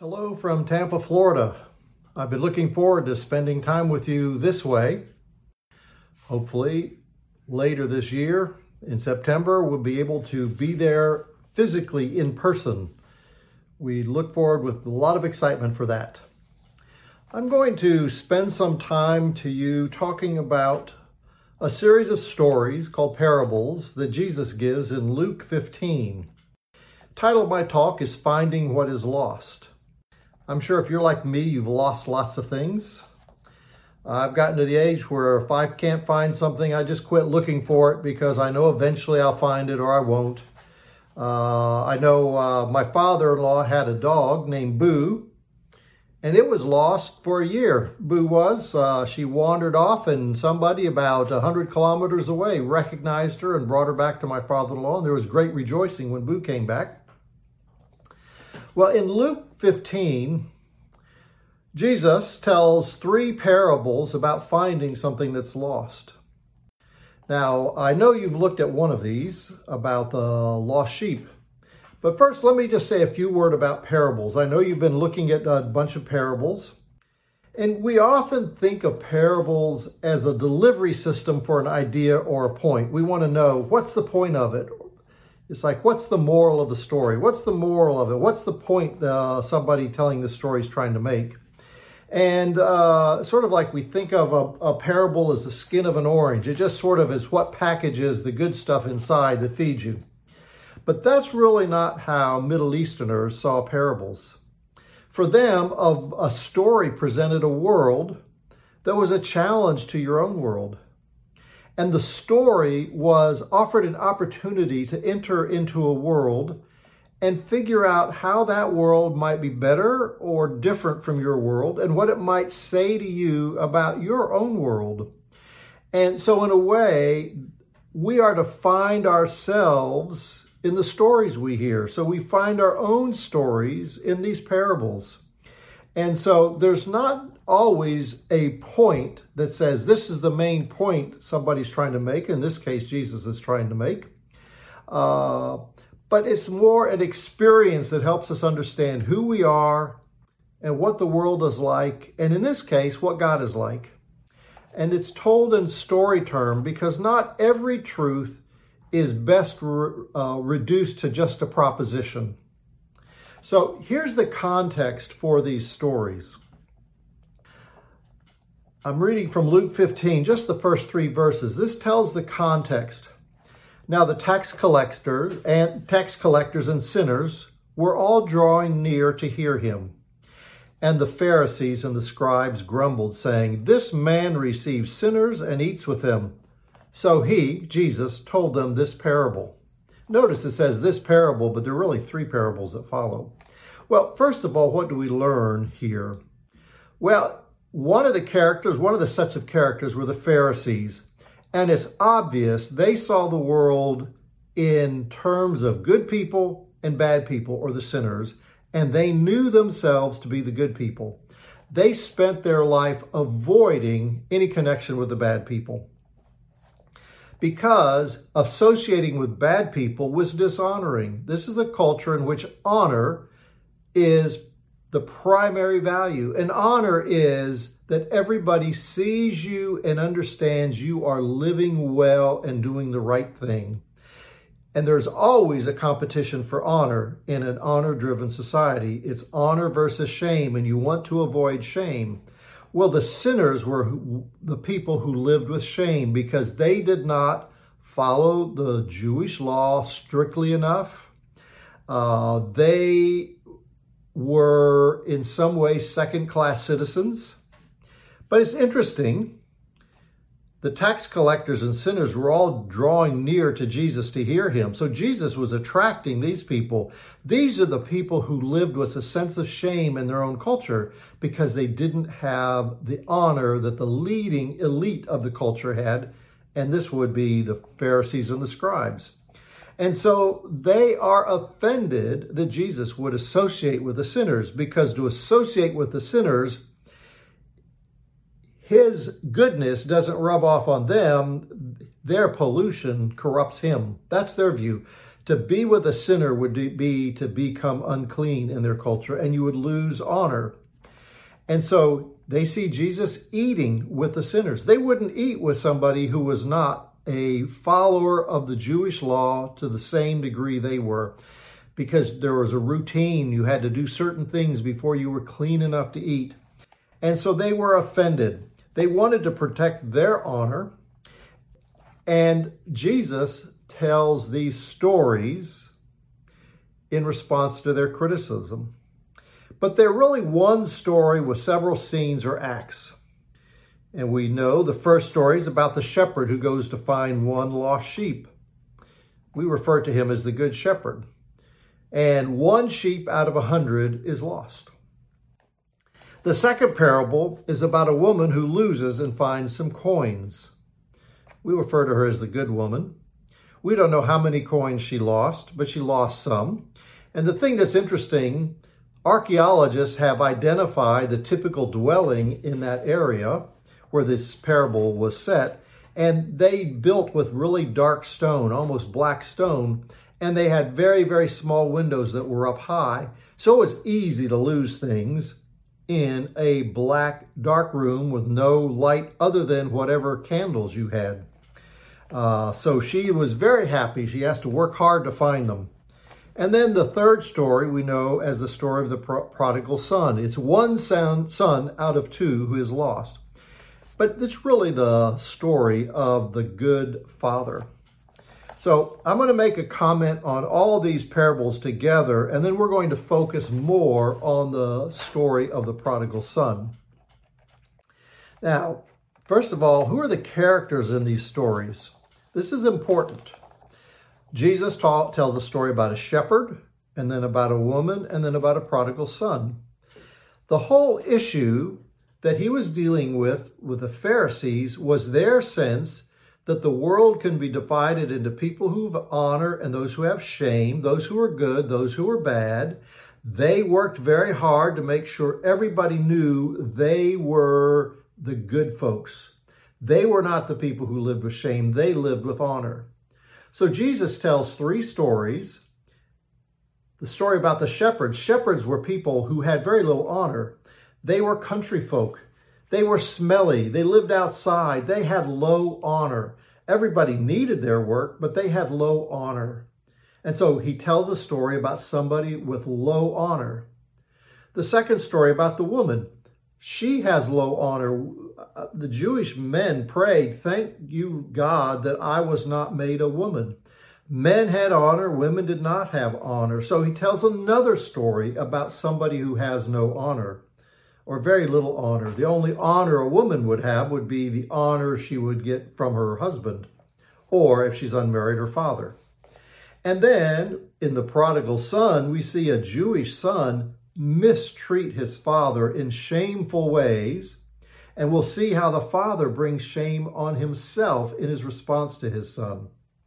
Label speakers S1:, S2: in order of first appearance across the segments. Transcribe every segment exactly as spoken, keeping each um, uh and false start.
S1: Hello from Tampa, Florida. I've been looking forward to spending time with you this way. Hopefully, later this year, in September, we'll be able to be there physically in person. We look forward with a lot of excitement for that. I'm going to spend some time to you talking about a series of stories called parables that Jesus gives in Luke fifteen. The title of my talk is Finding What is Lost. I'm sure if you're like me, you've lost lots of things. I've gotten to the age where if I can't find something, I just quit looking for it because I know eventually I'll find it or I won't. Uh, I know uh, my father-in-law had a dog named Boo, and it was lost for a year. Boo was. Uh, she wandered off, and somebody about one hundred kilometers away recognized her and brought her back to my father-in-law, and there was great rejoicing when Boo came back. Well, in Luke fifteen, Jesus tells three parables about finding something that's lost. Now, I know you've looked at one of these about the lost sheep. But first, let me just say a few words about parables. I know you've been looking at a bunch of parables. And we often think of parables as a delivery system for an idea or a point. We want to know, what's the point of it? It's like, what's the moral of the story? What's the moral of it? What's the point uh, somebody telling the story is trying to make? And uh, sort of like we think of a, a parable as the skin of an orange. It just sort of is what packages the good stuff inside that feeds you. But that's really not how Middle Easterners saw parables. For them, of a story presented a world that was a challenge to your own world. And the story was offered an opportunity to enter into a world and figure out how that world might be better or different from your world and what it might say to you about your own world. And so in a way, we are to find ourselves in the stories we hear. So we find our own stories in these parables. And so there's not always a point that says this is the main point somebody's trying to make. In this case, Jesus is trying to make. Uh, but it's more an experience that helps us understand who we are and what the world is like. And in this case, what God is like. And it's told in story term because not every truth is best re- uh, reduced to just a proposition. So here's the context for these stories. I'm reading from Luke fifteen, just the first three verses. This tells the context. Now the tax collectors and tax collectors and sinners were all drawing near to hear him. And the Pharisees and the scribes grumbled, saying, "This man receives sinners and eats with them." So he, Jesus, told them this parable. Notice it says this parable, but there are really three parables that follow. Well, first of all, what do we learn here? Well, one of the characters, one of the sets of characters were the Pharisees. And it's obvious they saw the world in terms of good people and bad people, or the sinners, and they knew themselves to be the good people. They spent their life avoiding any connection with the bad people, because associating with bad people was dishonoring. This is a culture in which honor is the primary value. And honor is that everybody sees you and understands you are living well and doing the right thing. And there's always a competition for honor in an honor-driven society. It's honor versus shame, and you want to avoid shame. Well, the sinners were the people who lived with shame because they did not follow the Jewish law strictly enough. Uh, they were in some way second-class citizens. But it's interesting, the tax collectors and sinners were all drawing near to Jesus to hear him. So Jesus was attracting these people. These are the people who lived with a sense of shame in their own culture because they didn't have the honor that the leading elite of the culture had. And this would be the Pharisees and the scribes. And so they are offended that Jesus would associate with the sinners, because to associate with the sinners, his goodness doesn't rub off on them. Their pollution corrupts him. That's their view. To be with a sinner would be to become unclean in their culture, and you would lose honor. And so they see Jesus eating with the sinners. They wouldn't eat with somebody who was not a follower of the Jewish law to the same degree they were, because there was a routine. You had to do certain things before you were clean enough to eat. And so they were offended. They wanted to protect their honor. And Jesus tells these stories in response to their criticism. But they're really one story with several scenes or acts. And we know the first story is about the shepherd who goes to find one lost sheep. We refer to him as the Good Shepherd. And one sheep out of a hundred is lost. The second parable is about a woman who loses and finds some coins. We refer to her as the good woman. We don't know how many coins she lost, but she lost some. And the thing that's interesting, archaeologists have identified the typical dwelling in that area where this parable was set, and they built with really dark stone, almost black stone, and they had very, very small windows that were up high. So it was easy to lose things in a black, dark room with no light other than whatever candles you had. Uh, so she was very happy. She has to work hard to find them. And then the third story we know as the story of the pro- prodigal son. It's one son, son out of two who is lost. But it's really the story of the good father. So I'm going to make a comment on all these parables together, and then we're going to focus more on the story of the prodigal son. Now, first of all, who are the characters in these stories? This is important. Jesus ta- tells a story about a shepherd, and then about a woman, and then about a prodigal son. The whole issue that he was dealing with with the Pharisees was their sense that the world can be divided into people who have honor and those who have shame, those who are good, those who are bad. They worked very hard to make sure everybody knew they were the good folks. They were not the people who lived with shame. They lived with honor. So Jesus tells three stories. The story about the shepherds. Shepherds were people who had very little honor. They were country folk. They were smelly. They lived outside. They had low honor. Everybody needed their work, but they had low honor. And so he tells a story about somebody with low honor. The second story about the woman. She has low honor. The Jewish men prayed, "Thank you, God, that I was not made a woman." Men had honor, women did not have honor. So he tells another story about somebody who has no honor, or very little honor. The only honor a woman would have would be the honor she would get from her husband, or if she's unmarried, her father. And then in the prodigal son, we see a Jewish son mistreat his father in shameful ways. And we'll see how the father brings shame on himself in his response to his son.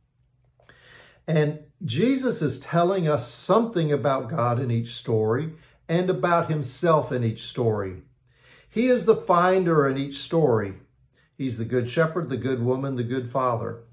S1: And Jesus is telling us something about God in each story and about himself in each story. He is the finder in each story. He's the good shepherd, the good woman, the good father.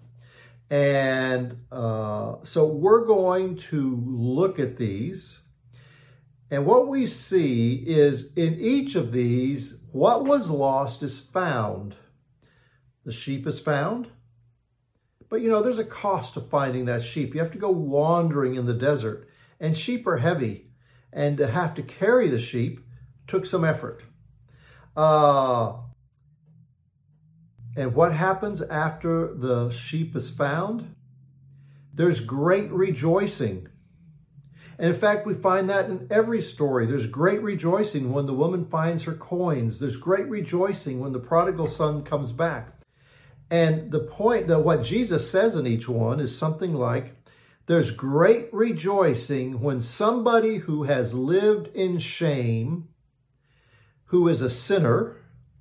S1: And uh, so we're going to look at these. And what we see is in each of these, what was lost is found. The sheep is found. But, you know, there's a cost to finding that sheep. You have to go wandering in the desert. And sheep are heavy. And to have to carry the sheep took some effort. Uh, and what happens after the sheep is found? There's great rejoicing. And in fact, we find that in every story. There's great rejoicing when the woman finds her coins. There's great rejoicing when the prodigal son comes back. And the point that what Jesus says in each one is something like, there's great rejoicing when somebody who has lived in shame, who is a sinner,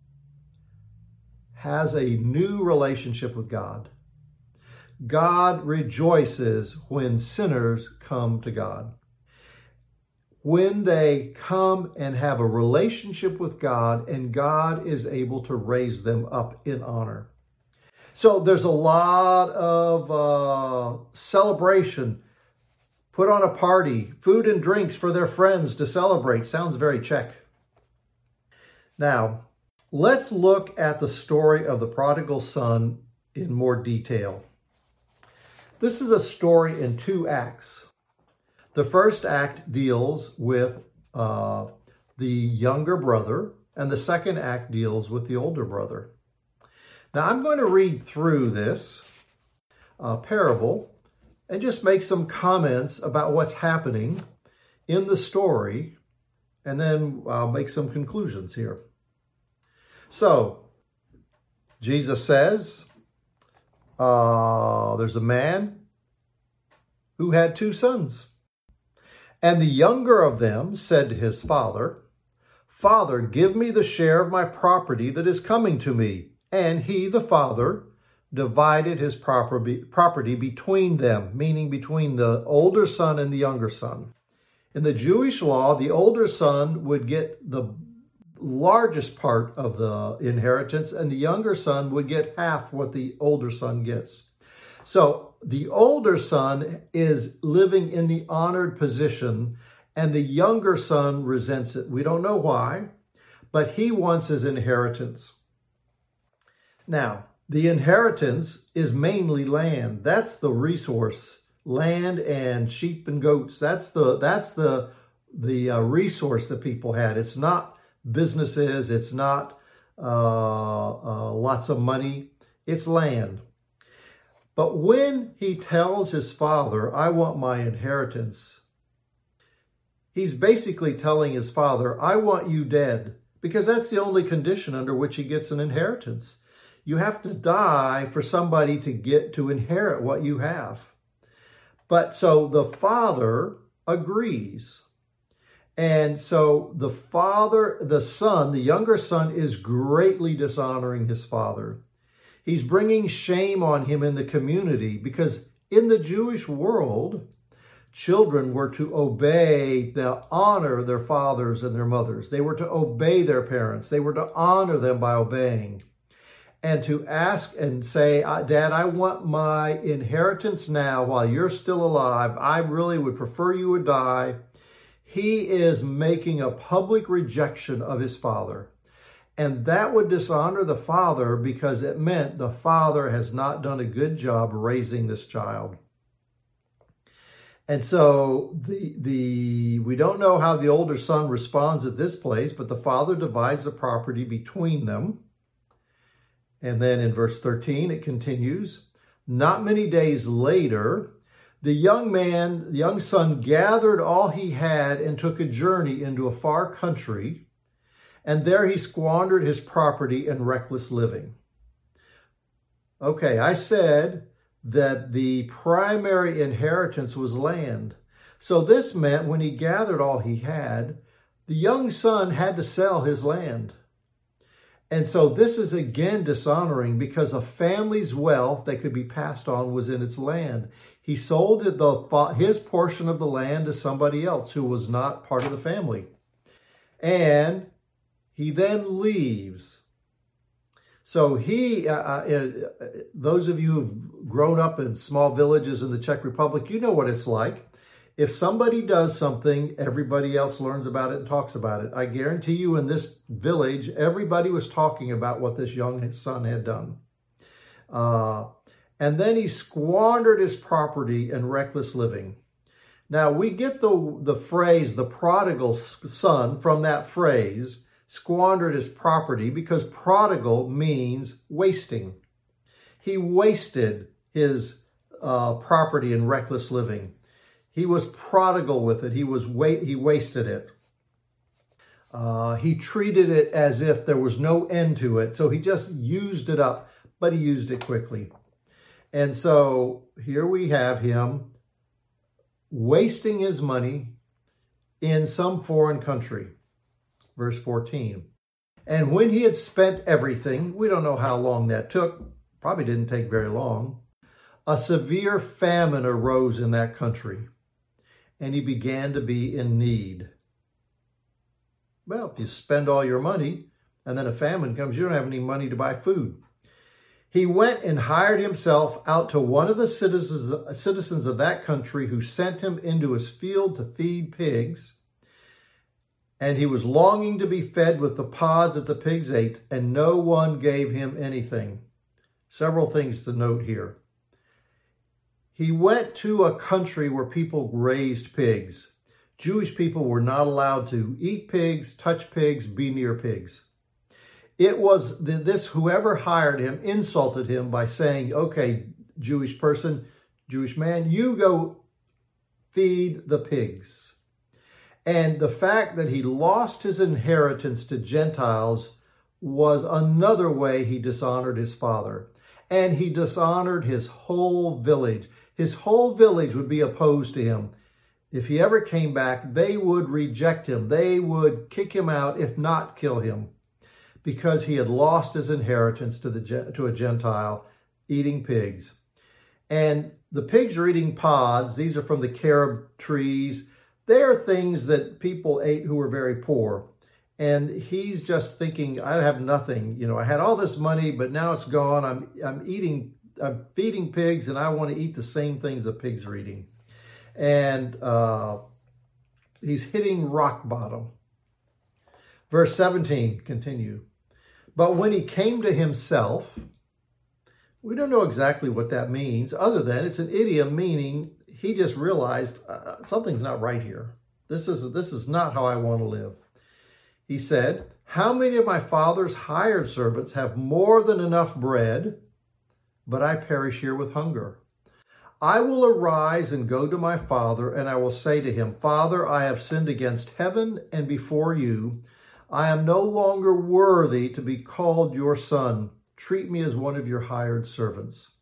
S1: has a new relationship with God. God rejoices when sinners come to God. When they come and have a relationship with God, and God is able to raise them up in honor. So there's a lot of uh, celebration put on a party, food and drinks for their friends to celebrate. Sounds very Czech. Now, let's look at the story of the prodigal son in more detail. This is a story in two acts. The first act deals with uh, the younger brother, and the second act deals with the older brother. Now, I'm going to read through this uh, parable and just make some comments about what's happening in the story, and then I'll make some conclusions here. So, Jesus says, uh, there's a man who had two sons. And the younger of them said to his father, Father, give me the share of my property that is coming to me. And he, the father, divided his property, property between them, meaning between the older son and the younger son. In the Jewish law, the older son would get the largest part of the inheritance, and the younger son would get half what the older son gets. So the older son is living in the honored position, and the younger son resents it. We don't know why, but he wants his inheritance. Now, the inheritance is mainly land. That's the resource, land and sheep and goats. That's the that's the the uh, resource that people had. It's not businesses. It's not uh, uh, lots of money. It's land. But when he tells his father, I want my inheritance, he's basically telling his father, I want you dead, because that's the only condition under which he gets an inheritance. You have to die for somebody to get to inherit what you have. But so the father agrees. And so the father, the son, the younger son is greatly dishonoring his father. He's bringing shame on him in the community, because in the Jewish world, children were to obey, the honor their fathers and their mothers. They were to obey their parents. They were to honor them by obeying. And to ask and say, Dad, I want my inheritance now while you're still alive. I really would prefer you would die. He is making a public rejection of his father. And that would dishonor the father, because it meant the father has not done a good job raising this child. And so the the we don't know how the older son responds at this place, but the father divides the property between them. And then in verse thirteen, it continues, not many days later, the young man, the young son gathered all he had and took a journey into a far country, and there he squandered his property in reckless living. Okay, I said that the primary inheritance was land. So this meant when he gathered all he had, the young son had to sell his land. And so this is again dishonoring, because a family's wealth that could be passed on was in its land. He sold the, his portion of the land to somebody else who was not part of the family. And he then leaves. So he, uh, uh, those of you who've grown up in small villages in the Czech Republic, you know what it's like. If somebody does something, everybody else learns about it and talks about it. I guarantee you in this village, everybody was talking about what this young son had done. Uh, and then he squandered his property in reckless living. Now, we get the, the phrase, the prodigal son, from that phrase, squandered his property, because prodigal means wasting. He wasted his uh, property in reckless living. He was prodigal with it. He was wa- he wasted it. Uh, he treated it as if there was no end to it. So he just used it up, but he used it quickly. And so here we have him wasting his money in some foreign country. Verse fourteen. And when he had spent everything, we don't know how long that took, probably didn't take very long, a severe famine arose in that country, and he began to be in need. Well, if you spend all your money and then a famine comes, you don't have any money to buy food. He went and hired himself out to one of the citizens, citizens of that country, who sent him into his field to feed pigs. And he was longing to be fed with the pods that the pigs ate, and no one gave him anything. Several things to note here. He went to a country where people raised pigs. Jewish people were not allowed to eat pigs, touch pigs, be near pigs. It was this, whoever hired him insulted him by saying, okay, Jewish person, Jewish man, you go feed the pigs. And the fact that he lost his inheritance to Gentiles was another way he dishonored his father. And he dishonored his whole village. His whole village would be opposed to him. If he ever came back, they would reject him. They would kick him out, if not kill him, because he had lost his inheritance to the to a Gentile, eating pigs. And the pigs are eating pods. These are from the carob trees. They are things that people ate who were very poor. And he's just thinking, I have nothing. You know, I had all this money, but now it's gone. I'm I'm eating, I'm feeding pigs, and I want to eat the same things that pigs are eating. And uh, he's hitting rock bottom. Verse seventeen, continue. But when he came to himself, we don't know exactly what that means, other than it's an idiom meaning he just realized uh, something's not right here. This is, this is not how I want to live. He said, how many of my father's hired servants have more than enough bread, but I perish here with hunger? I will arise and go to my father, and I will say to him, Father, I have sinned against heaven and before you. I am no longer worthy to be called your son. Treat me as one of your hired servants.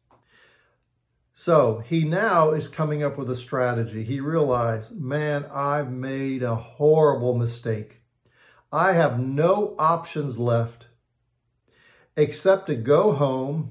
S1: So he now is coming up with a strategy. He realized, man, I've made a horrible mistake. I have no options left except to go home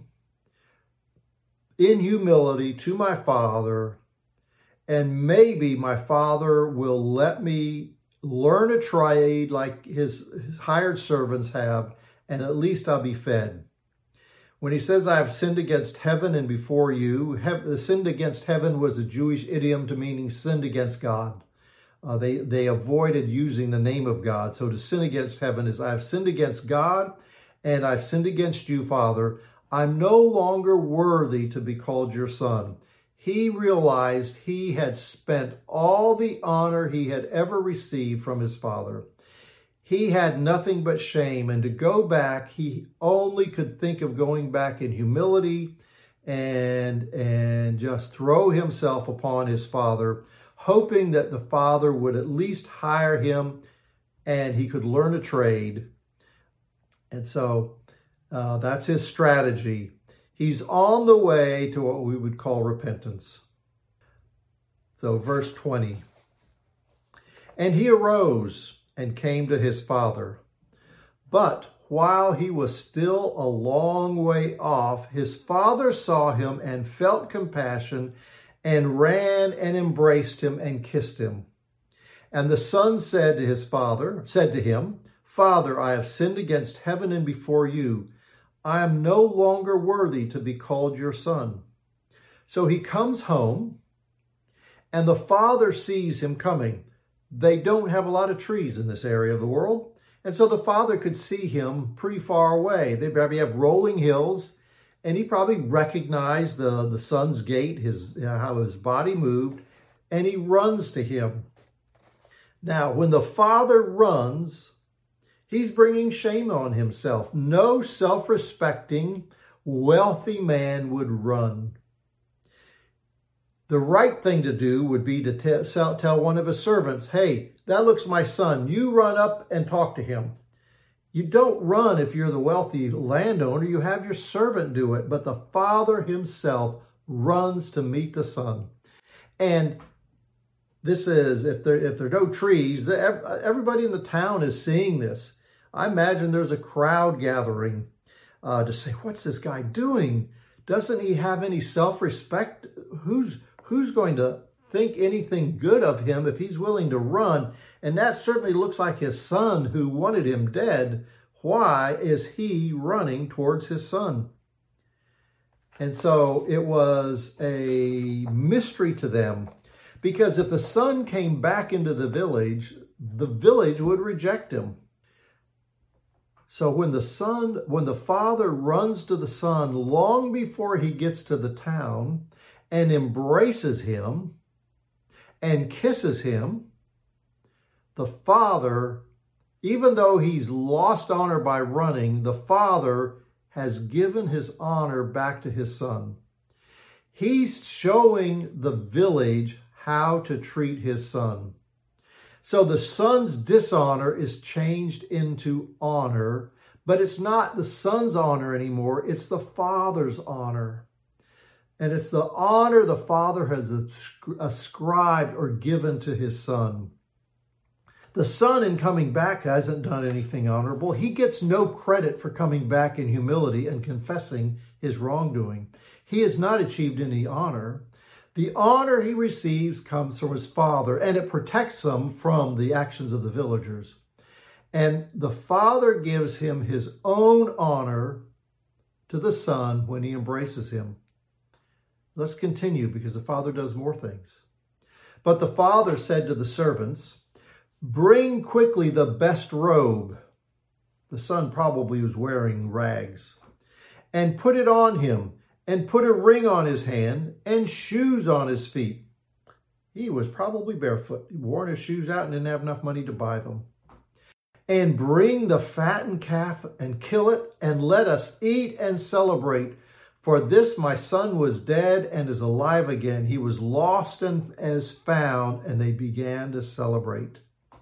S1: in humility to my father, and maybe my father will let me learn a trade like his, his hired servants have, and at least I'll be fed. When he says, I have sinned against heaven and before you, have, sinned against heaven was a Jewish idiom to meaning sinned against God. Uh, they, they avoided using the name of God. So to sin against heaven is, I have sinned against God, and I've sinned against you, Father. I'm no longer worthy to be called your son. He realized he had spent all the honor he had ever received from his father. He had nothing but shame, and to go back, he only could think of going back in humility and, and just throw himself upon his father, hoping that the father would at least hire him and he could learn a trade. And so uh, that's his strategy. He's on the way to what we would call repentance. So verse twenty. And he arose and came to his father. But while he was still a long way off, his father saw him and felt compassion and ran and embraced him and kissed him. And the son said to his father, said to him, Father, I have sinned against heaven and before you. I am no longer worthy to be called your son. So he comes home, and the father sees him coming. They don't have a lot of trees in this area of the world, and so the father could see him pretty far away. They probably have rolling hills, and he probably recognized the, the son's gait, his, uh, how his body moved, and he runs to him. Now, when the father runs, he's bringing shame on himself. No self-respecting, wealthy man would run. The right thing to do would be to tell, tell one of his servants, hey, that looks my son. You run up and talk to him. You don't run if you're the wealthy landowner. You have your servant do it. But the father himself runs to meet the son. And this is, if there, if there are no trees, everybody in the town is seeing this. I imagine there's a crowd gathering uh, to say, what's this guy doing? Doesn't he have any self-respect? Who's, who's going to think anything good of him if he's willing to run? And that certainly looks like his son who wanted him dead. Why is he running towards his son? And so it was a mystery to them, because if the son came back into the village, the village would reject him. So when the son, when the father runs to the son long before he gets to the town and embraces him and kisses him, the father, even though he's lost honor by running, the father has given his honor back to his son. He's showing the village how to treat his son. So the son's dishonor is changed into honor, but it's not the son's honor anymore. It's the father's honor. And it's the honor the father has ascribed or given to his son. The son, in coming back, hasn't done anything honorable. He gets no credit for coming back in humility and confessing his wrongdoing. He has not achieved any honor. The honor he receives comes from his father, and it protects him from the actions of the villagers. And the father gives him his own honor to the son when he embraces him. Let's continue, because the father does more things. But the father said to the servants, "Bring quickly the best robe." The son probably was wearing rags. "And put it on him, and put a ring on his hand, and shoes on his feet." He was probably barefoot. He wore his shoes out and didn't have enough money to buy them. "And bring the fattened calf, and kill it, and let us eat and celebrate. For this my son was dead and is alive again. He was lost and is found." And they began to celebrate.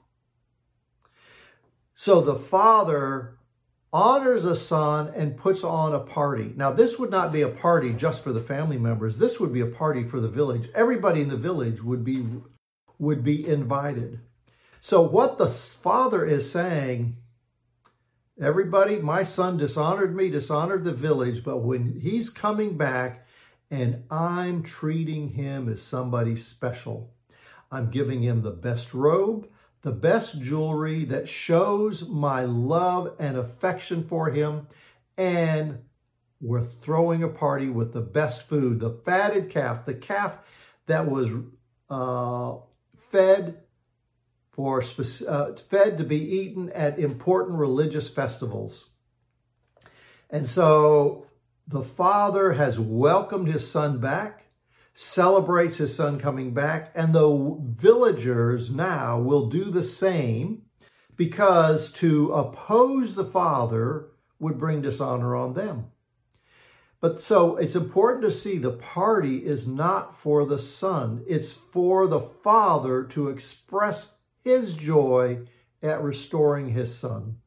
S1: So the father honors a son and puts on a party. Now, this would not be a party just for the family members. This would be a party for the village. Everybody in the village would be, would be invited. So what the father is saying, everybody, my son dishonored me, dishonored the village, but when he's coming back and I'm treating him as somebody special, I'm giving him the best robe, the best jewelry that shows my love and affection for him, and we're throwing a party with the best food, the fatted calf, the calf that was uh, fed for uh, fed to be eaten at important religious festivals. And so the father has welcomed his son back, celebrates his son coming back, and the villagers now will do the same, because to oppose the father would bring dishonor on them. But so it's important to see the party is not for the son. It's for the father to express his joy at restoring his son.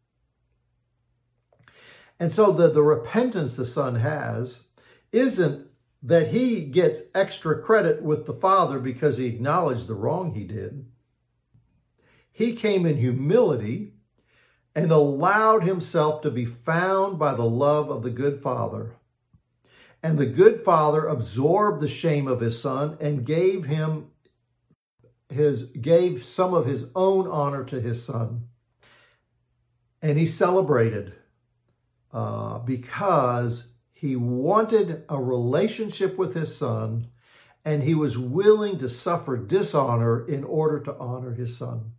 S1: And so the, the repentance the son has isn't that he gets extra credit with the father because he acknowledged the wrong he did. He came in humility and allowed himself to be found by the love of the good father. And the good father absorbed the shame of his son and gave him his, gave some of his own honor to his son. And he celebrated uh, because he wanted a relationship with his son, and he was willing to suffer dishonor in order to honor his son.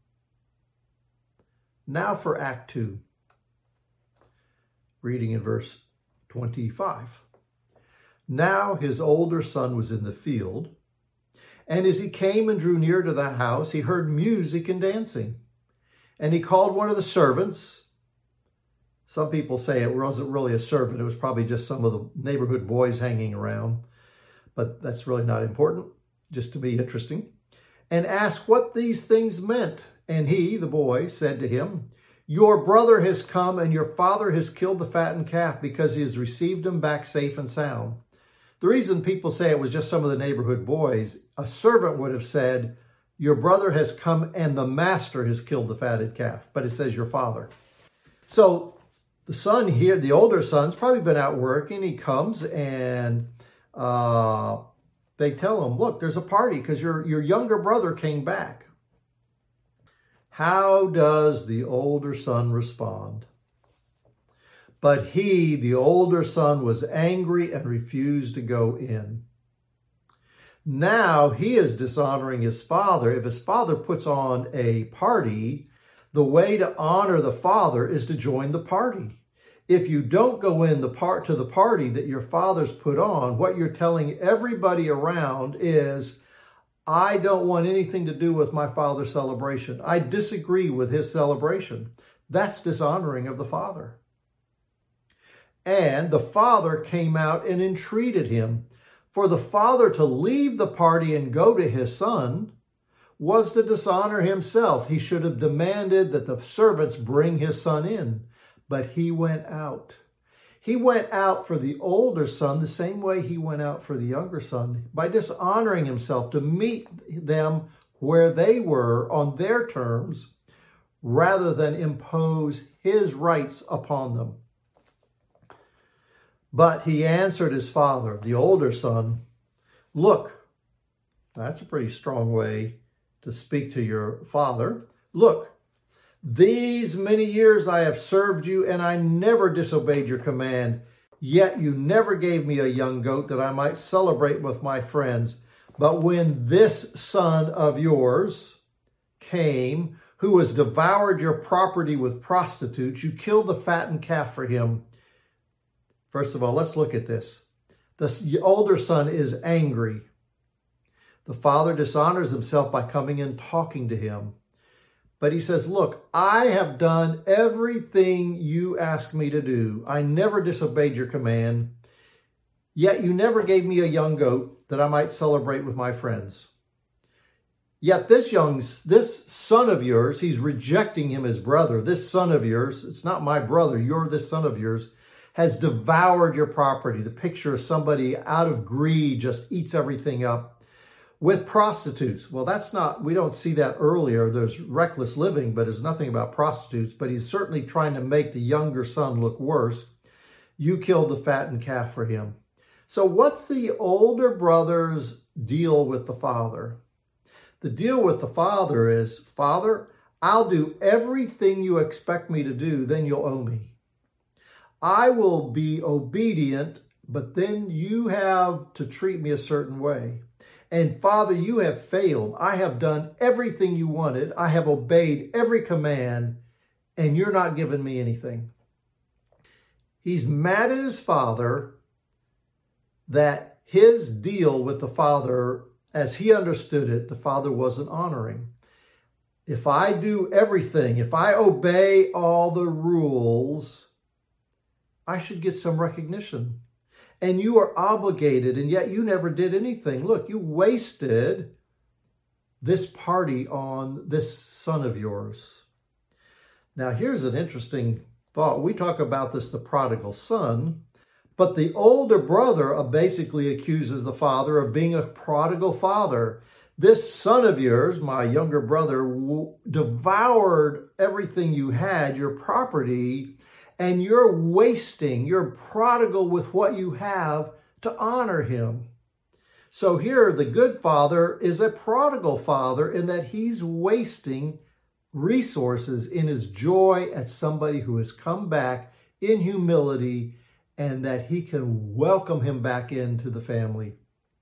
S1: Now for Act two, reading in verse twenty-five. Now his older son was in the field, and as he came and drew near to the house, he heard music and dancing. And he called one of the servants. Some people say it wasn't really a servant. It was probably just some of the neighborhood boys hanging around. But that's really not important, just to be interesting. And asked what these things meant. And he, the boy, said to him, "Your brother has come, and your father has killed the fattened calf because he has received him back safe and sound." The reason people say it was just some of the neighborhood boys, a servant would have said, "Your brother has come and the master has killed the fatted calf." But it says your father. So the son here, the older son's probably been out working. He comes and uh, they tell him, "Look, there's a party because your, your younger brother came back." How does the older son respond? But he, the older son, was angry and refused to go in. Now he is dishonoring his father. If his father puts on a party, the way to honor the father is to join the party. If you don't go in the part to the party that your father's put on, what you're telling everybody around is, I don't want anything to do with my father's celebration. I disagree with his celebration. That's dishonoring of the father. And the father came out and entreated him. For the father to leave the party and go to his son was to dishonor himself. He should have demanded that the servants bring his son in. But he went out. He went out for the older son the same way he went out for the younger son, by dishonoring himself to meet them where they were on their terms, rather than impose his rights upon them. But he answered his father, the older son, look, that's a pretty strong way to speak to your father. Look, these many years I have served you, and I never disobeyed your command. Yet you never gave me a young goat that I might celebrate with my friends. But when this son of yours came, who has devoured your property with prostitutes, you killed the fattened calf for him. First of all, let's look at this. The older son is angry. The father dishonors himself by coming and talking to him. But he says, look, I have done everything you asked me to do. I never disobeyed your command. Yet you never gave me a young goat that I might celebrate with my friends. Yet this young, this son of yours, he's rejecting him as brother. This son of yours, it's not my brother, you're this son of yours, has devoured your property. The picture of somebody out of greed just eats everything up with prostitutes. Well, that's not, we don't see that earlier. There's reckless living, but there's nothing about prostitutes. But he's certainly trying to make the younger son look worse. You killed the fattened calf for him. So what's the older brother's deal with the father? The deal with the father is, Father, I'll do everything you expect me to do, then you'll owe me. I will be obedient, but then you have to treat me a certain way. And Father, you have failed. I have done everything you wanted. I have obeyed every command, and you're not giving me anything. He's mad at his father that his deal with the father, as he understood it, the father wasn't honoring. If I do everything, if I obey all the rules, I should get some recognition. And you are obligated, and yet you never did anything. Look, you wasted this party on this son of yours. Now, here's an interesting thought. We talk about this, the prodigal son, but the older brother basically accuses the father of being a prodigal father. This son of yours, my younger brother, devoured everything you had, your property, and you're wasting, you're prodigal with what you have to honor him. So here, the good father is a prodigal father in that he's wasting resources in his joy at somebody who has come back in humility and that he can welcome him back into the family.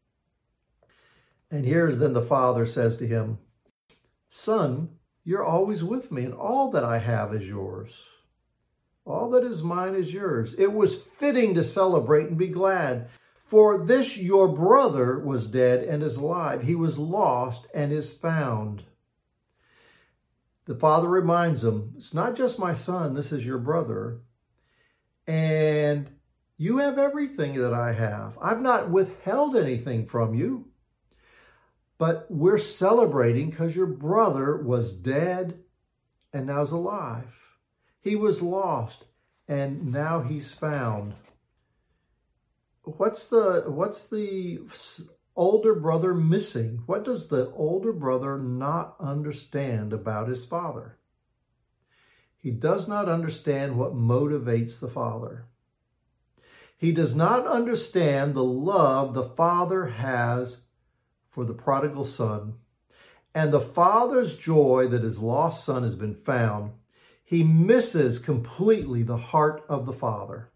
S1: And here's then the father says to him, Son, you're always with me, and all that I have is yours. All that is mine is yours. It was fitting to celebrate and be glad. For this your brother was dead and is alive. He was lost and is found. The father reminds him, it's not just my son, this is your brother. And you have everything that I have. I've not withheld anything from you. But we're celebrating because your brother was dead and now is alive. He was lost, and now he's found. What's the, what's the older brother missing? What does the older brother not understand about his father? He does not understand what motivates the father. He does not understand the love the father has for the prodigal son, and the father's joy that his lost son has been found. he misses completely the heart of the Father.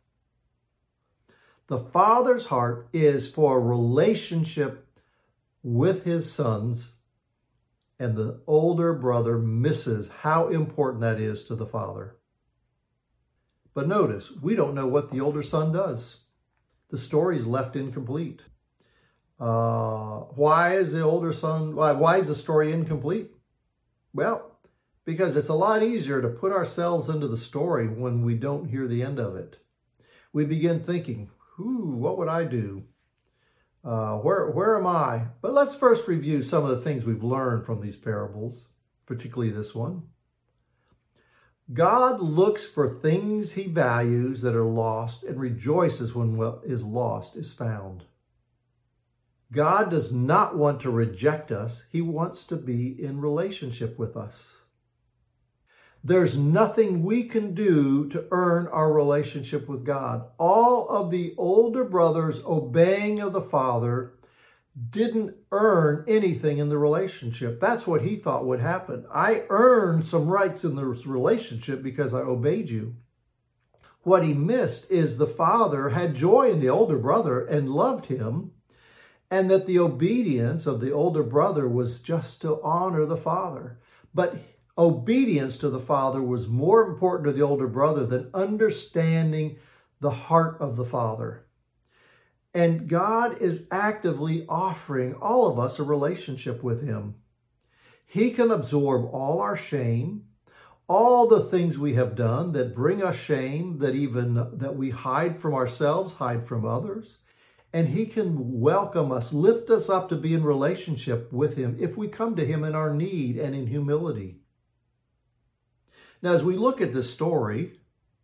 S1: The Father's heart is for a relationship with his sons, and the older brother misses how important that is to the Father. But notice, we don't know what the older son does. The story is left incomplete. Uh, why is the older son, why, why is the story incomplete? Well, because it's a lot easier to put ourselves into the story when we don't hear the end of it. We begin thinking, ooh, what would I do? Uh, where, where am I? But let's first review some of the things we've learned from these parables, particularly this one. God looks for things he values that are lost and rejoices when what is lost is found. God does not want to reject us. He wants to be in relationship with us. There's nothing we can do to earn our relationship with God. All of the older brothers obeying of the Father didn't earn anything in the relationship. That's what he thought would happen. I earned some rights in the relationship because I obeyed you. What he missed is the Father had joy in the older brother and loved him, and that the obedience of the older brother was just to honor the Father. But obedience to the Father was more important to the older brother than understanding the heart of the Father. And God is actively offering all of us a relationship with him. He can absorb all our shame, all the things we have done that bring us shame, that even that we hide from ourselves, hide from others. And he can welcome us, lift us up to be in relationship with him if we come to him in our need and in humility. Now, as we look at this story,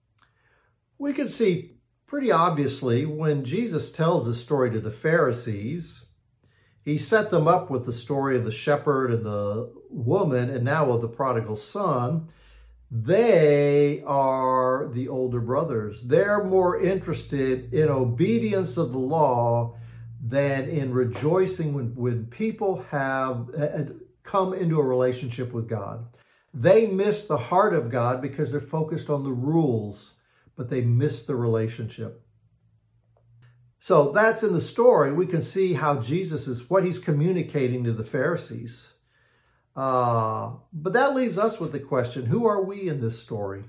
S1: we can see pretty obviously, when Jesus tells the story to the Pharisees, he set them up with the story of the shepherd and the woman, and now of the prodigal son. They are the older brothers. They're more interested in obedience of the law than in rejoicing when, when people have come into a relationship with God. They miss the heart of God because they're focused on the rules, but they miss the relationship. So that's in the story. We can see how Jesus is, what he's communicating to the Pharisees. Uh, but that leaves us with the question, who are we in this story?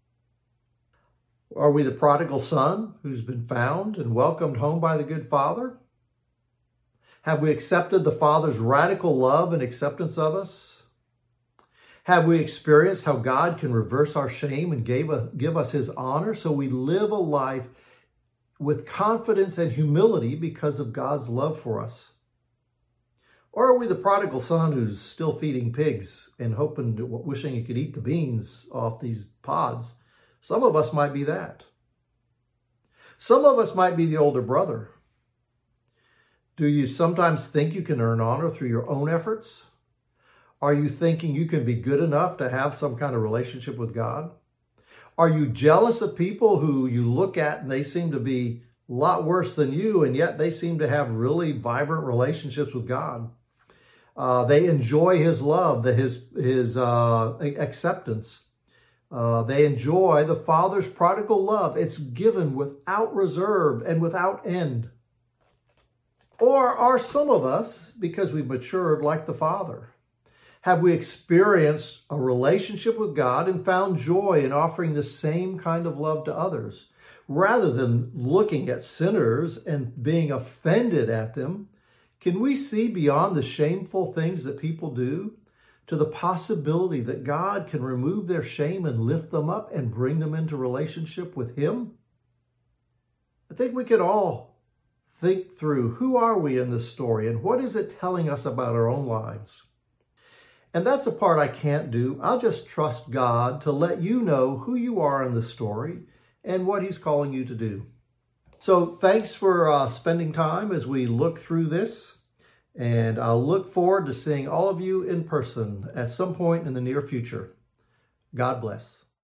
S1: Are we the prodigal son who's been found and welcomed home by the good Father? Have we accepted the Father's radical love and acceptance of us? Have we experienced how God can reverse our shame and gave a, give us his honor so we live a life with confidence and humility because of God's love for us? Or are we the prodigal son who's still feeding pigs and hoping, to, wishing he could eat the beans off these pods? Some of us might be that. Some of us might be the older brother. Do you sometimes think you can earn honor through your own efforts? Are you thinking you can be good enough to have some kind of relationship with God? Are you jealous of people who you look at and they seem to be a lot worse than you, and yet they seem to have really vibrant relationships with God? Uh, they enjoy his love, the, his, his uh, acceptance. Uh, they enjoy the Father's prodigal love. It's given without reserve and without end. Or are some of us, because we've matured like the Father, have we experienced a relationship with God and found joy in offering the same kind of love to others? Rather than looking at sinners and being offended at them, can we see beyond the shameful things that people do to the possibility that God can remove their shame and lift them up and bring them into relationship with him? I think we could all think through, who are we in this story and what is it telling us about our own lives? And that's the part I can't do. I'll just trust God to let you know who you are in the story and what he's calling you to do. So thanks for uh, spending time as we look through this. And I'll look forward to seeing all of you in person at some point in the near future. God bless.